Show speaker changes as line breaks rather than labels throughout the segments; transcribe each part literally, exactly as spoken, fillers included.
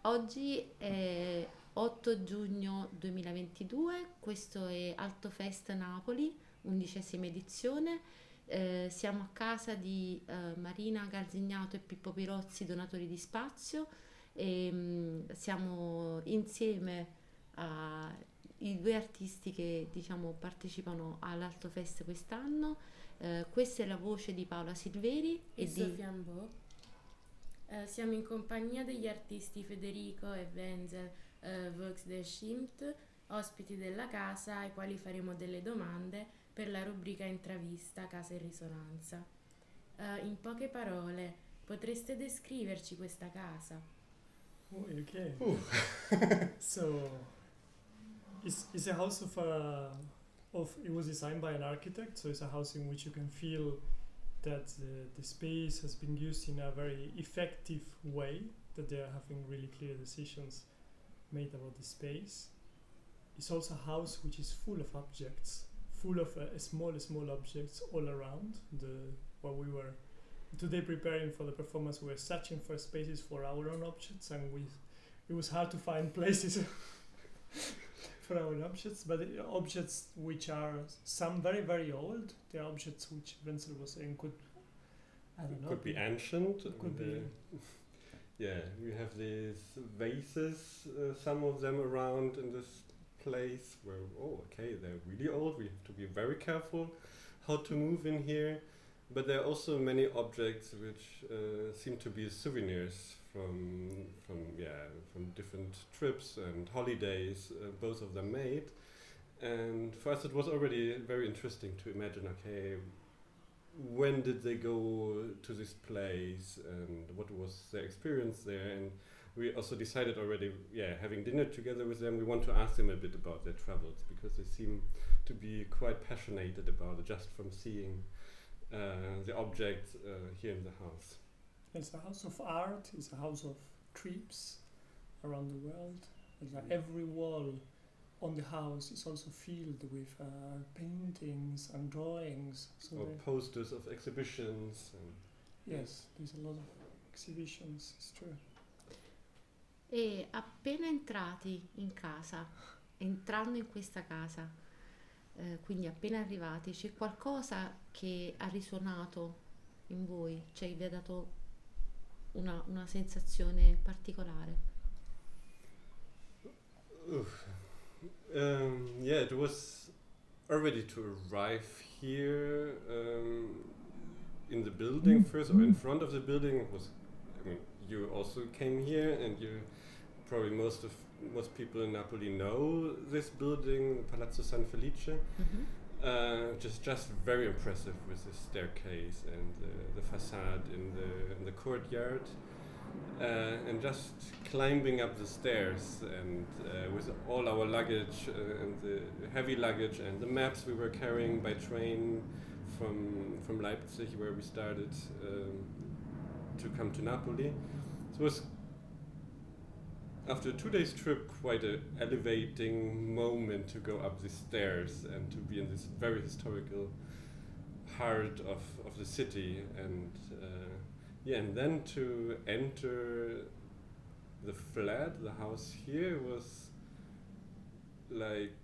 Oggi è otto giugno duemilaventidue, questo è Altofest Napoli, undicesima edizione. Eh, siamo a casa di eh, Marina Galzignato e Pippo Pirozzi, donatori di spazio, e mm, siamo insieme ai due artisti che diciamo partecipano all'Altofest quest'anno. Eh, questa è la voce di Paola Silveri
e
e di
Sofia Ambo. Eh, siamo in compagnia degli artisti Federico e Wenzel eh, Vox de Schimt, ospiti della casa ai quali faremo delle domande per la rubrica Intravista Casa in Risonanza. Eh, in poche parole, potreste descriverci questa casa?
Oh, okay.
Ooh.
So, it's, it's a house of, uh, of, it was designed by an architect, so it's a house in which you can feel that the, the space has been used in a very effective way, that they are having really clear decisions made about the space. It's also a house which is full of objects, full of uh, small, small objects all around. The While we were today preparing for the performance, we were searching for spaces for our own objects, and we it was hard to find places for our own objects, but uh, objects which are some very, very old. They are objects which Wenzel was saying could, I don't know,
Could be ancient.
could
and,
be.
uh, yeah, we have these vases, uh, some of them around in this place where, oh, okay, they're really old. We have to be very careful how to move in here. But there are also many objects which uh, seem to be souvenirs from from yeah from different trips and holidays. Uh, both of them made, and for us it was already very interesting to imagine. Okay, when did they go to this place and what was their experience there? And we also decided already, yeah, having dinner together with them, we want to ask them a bit about their travels, because they seem to be quite passionate about it just from seeing uh, the objects uh, here in the house.
It's a house of art, it's a house of trips around the world. It's like
Mm.
every wall on the house is also filled with uh, paintings and drawings. So
Or
there-
posters of exhibitions. And
yes, there's a lot of exhibitions, it's true.
E appena entrati in casa, entrando in questa casa, eh, quindi appena arrivati, c'è qualcosa che ha risuonato in voi, cioè vi ha dato una, una sensazione particolare?
Oof. Um, yeah, it was already to arrive here um, in the building first, or in front of the building. It was, I mean, you also came here, and you probably most of most people in Napoli know this building, Palazzo San Felice.
Mhm.
Uh, just just very impressive with the staircase and uh, the facade in the in the courtyard, uh, and just climbing up the stairs and uh, with all our luggage uh, and the heavy luggage and the maps we were carrying by train from from Leipzig, where we started um, to come to Napoli. So it was, after a two days trip, quite a elevating moment to go up the stairs and to be in this very historical heart of, of the city, and uh, yeah, and then to enter the flat, the house here, was like,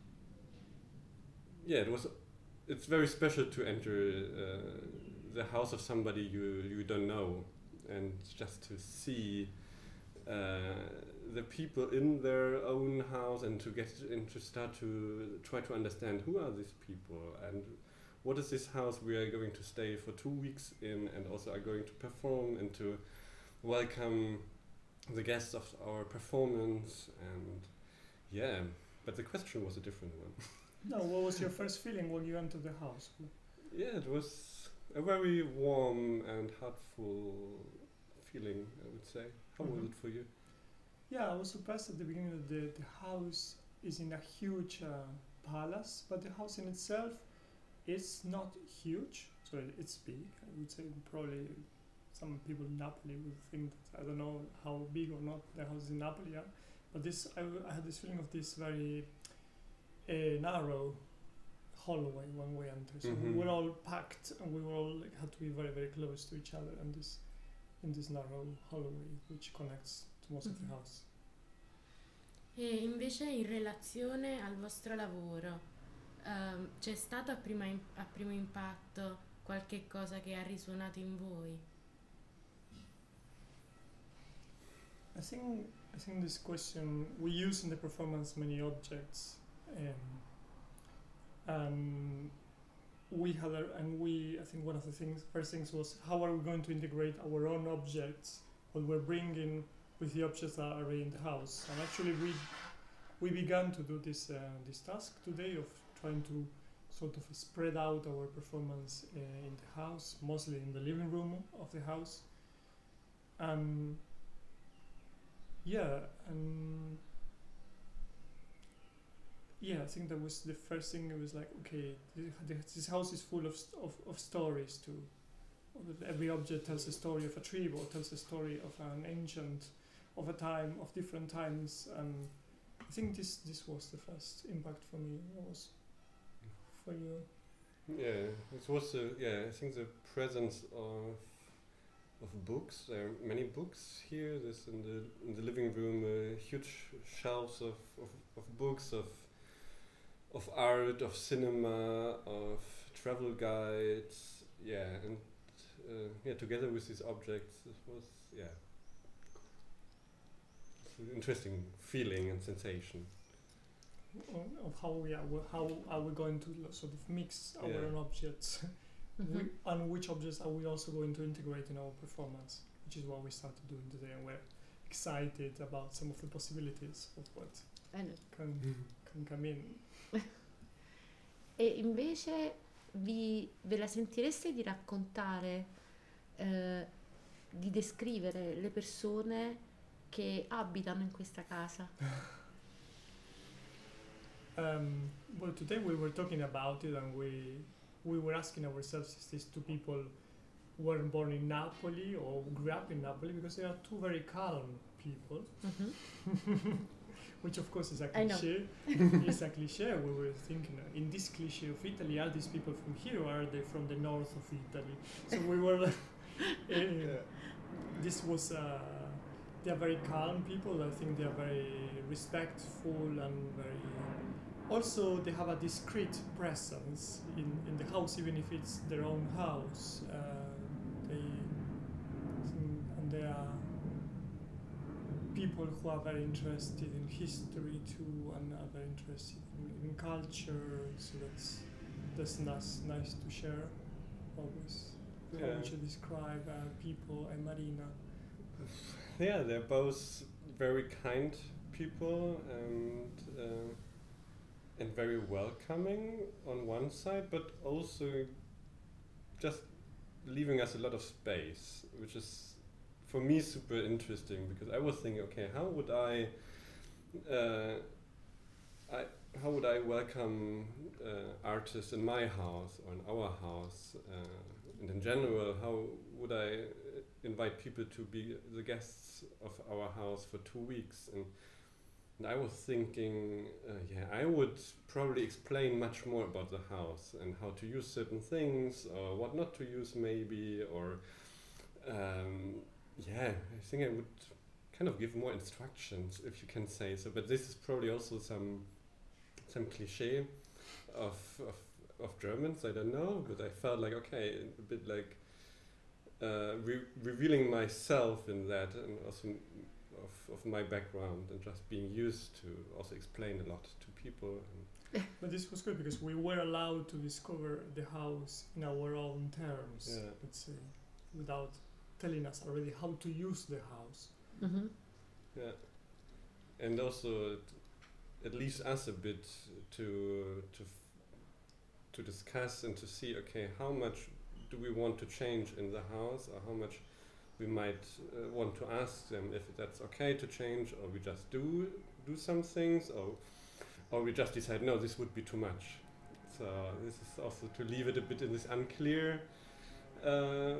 yeah, it was, it's very special to enter uh, the house of somebody you, you don't know, and just to see uh, the people in their own house, and to get and to start to try to understand who are these people and what is this house we are going to stay for two weeks in, and also are going to perform, and to welcome the guests of our performance. And yeah, but the question was a different one.
No, what was your first feeling when you entered the house?
Yeah, it was a very warm and heartful feeling, I would say. How was
Mhm.
it for you?
Yeah, I was surprised at the beginning that the, the house is in a huge uh, palace, but the house in itself is not huge, so it's big. I would say probably some people in Napoli would think that, I don't know how big or not the houses in Napoli are, but this I, w- I had this feeling of this very uh, narrow hallway when we entered. So we
Mhm.
were all packed, and we were all like, had to be very very close to each other, and this in this narrow hallway which connects to most of the
Mhm.
house.
E invece in relazione al vostro lavoro, ehm, c'è stato a, prima im- a primo impatto qualche cosa che ha risuonato in voi?
I think I think this question, we use in the performance many objects, um, and we had a, and we I think one of the things first things was how are we going to integrate our own objects, what we're bringing, with the objects that are already in the house. And actually we we began to do this uh, this task today of trying to sort of spread out our performance uh, in the house, mostly in the living room of the house. Um, yeah, and yeah, I think that was the first thing. It was like, okay, this, this house is full of, st- of of stories too. Every object tells a story of a tree, or tells a story of an ancient, of a time, of different times, and I think this this was the first impact for me. What was for you?
Yeah, it was uh, yeah. I think the presence of of books. There are many books here. There's in the in the living room uh, huge shelves of, of, of books of of art, of cinema, of travel guides. Yeah, and uh, yeah, together with these objects, it was yeah, it's an interesting feeling and sensation.
Of how we are, how are we going to lo- sort of mix our
Yeah.
own objects,
Mhm.
we, and which objects are we also going to integrate in our performance, which is what we started doing today, and we're excited about some of the possibilities of what
Eh, no.
can can come in.
E invece vi, ve la sentireste di raccontare, eh, di descrivere le persone che abitano in questa casa?
Um, well, today we were talking about it, and we we were asking ourselves, is these two people weren't born in Napoli or grew up in Napoli, because they are two very calm people,
Mhm.
which of course is a
I know.
cliché. It's a cliché. We were thinking, uh, in this cliché of Italy, are these people from here or are they from the north of Italy? So we were like, eh, this was, uh, they are very calm people. I think they are very respectful and very, also they have a discreet presence in, in the house, even if it's their own house. Uh, they, and they are people who are very interested in history too, and are very interested in, in culture. So that's that's nice, nice to share. Always, how
Yeah.
would you describe uh, people and Marina?
Yeah, they're both very kind people and uh, and very welcoming on one side, but also just leaving us a lot of space, which is for me super interesting, because I was thinking, okay, how would I, uh, I how would I welcome uh, artists in my house or in our house, uh, and in general, how would I uh, invite people to be the guests of our house for two weeks? And, and I was thinking, uh, yeah, I would probably explain much more about the house and how to use certain things, or what not to use maybe, or um, yeah, I think I would kind of give more instructions, if you can say so. But this is probably also some some cliche of of, of Germans. I don't know, but I felt like, okay, a bit like uh, re- revealing myself in that, and also m- of of my background, and just being used to also explain a lot to people. And
But this was good because we were allowed to discover the house in our own terms.
Yeah.
Let's say, without telling us already how to use the house.
Mhm.
yeah, and also it, it leaves us a bit to to f- to discuss and to see, okay, how much do we want to change in the house, or how much we might uh, want to ask them if that's okay to change, or we just do do some things, or or we just decide, no, this would be too much. So this is also to leave it a bit in this unclear uh,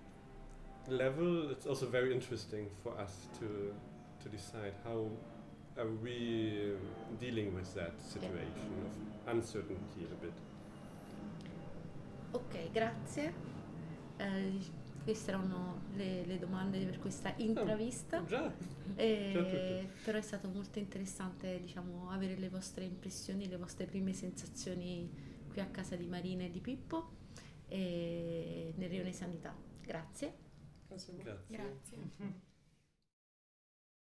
level. It's also very interesting for us to to decide how are we uh, dealing with that situation of uncertainty a bit.
Ok, grazie. Eh, queste erano le, le domande per questa intravista.
Oh, già.
E,
Già tutto.
però è stato molto interessante, diciamo, avere le vostre impressioni, le vostre prime sensazioni qui a casa di Marina e di Pippo e nel Rione Sanità. Grazie.
Grazie a voi.
Grazie.
Grazie.